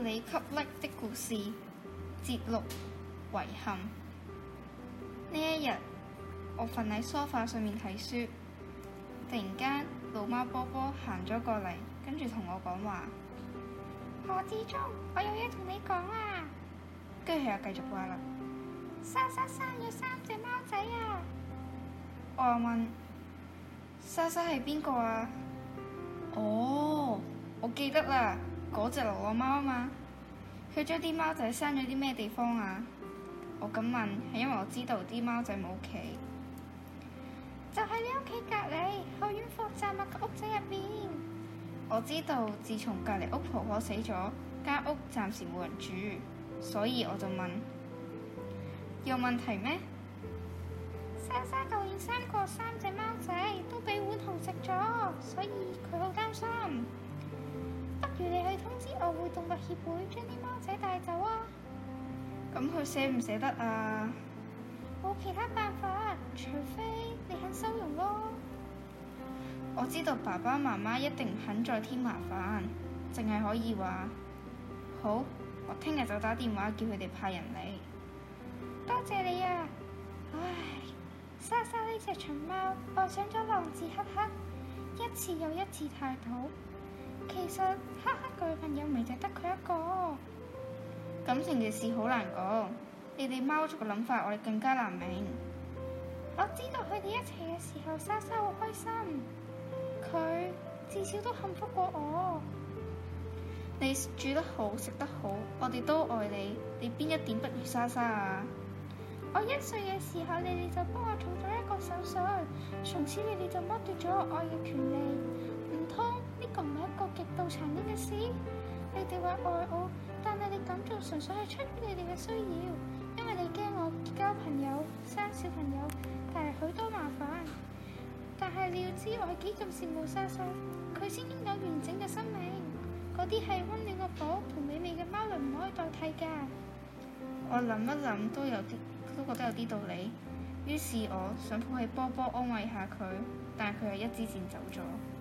你給力的故事節錄遺憾。呢一日，我瞓喺梳化上面睇書，突然間老貓波波行咗過嚟，跟住同我講話：何志忠，我有嘢同你講啊！跟住佢又繼續話啦：莎莎生咗3隻貓仔啊！我又問：莎莎係邊個啊？哦，我記得啦，嗰隻流浪貓啊嘛。佢將啲貓仔生咗啲咩地方啊？我咁問係因為我知道啲貓仔冇屋企，就喺你屋企隔離後院貨站物嘅屋仔入面。我知道自從隔離屋婆婆死咗，間屋暫時冇人住，所以我就問：有問題咩？莎莎舊年生過3隻貓仔，都俾碗豪食咗，所以佢好擔心。不如你去通知愛護動物協會，將啲貓仔帶走啊！咁佢捨唔捨得啊？冇其他辦法，除非你肯收容咯。我知道爸爸媽媽一定唔肯再添麻煩，淨係可以話好，我聽日就打電話叫佢哋派人嚟。多謝你啊！唉，莎莎呢隻長貓愛上咗狼字黑黑，一次又一次態度。其實黑黑女朋友咪就得佢一個。感情嘅事好難講，你哋貓族嘅諗法我哋更加難明。我知道佢哋一齊嘅時候，莎莎好開心，佢至少都幸福過我。你煮得好，食得好，我哋都愛你，你邊一點不如莎莎啊？我1歲嘅時候，你哋就幫我做咗一個手術，從此你哋就剝奪咗我愛嘅權利。唔通呢個唔係一個極度殘忍嘅事？你哋話愛我，但係你咁做純粹係出於你哋嘅需要，因為你驚我結交朋友、生小朋友，帶嚟許多麻煩。但係你要知我係幾咁羨慕莎莎，佢先擁有完整嘅生命，嗰啲係溫暖嘅寶同美味嘅貓糧唔可以代替㗎。我諗一諗都覺得有啲道理，於是我想抱起波波安慰下佢，但係佢又一支箭走咗。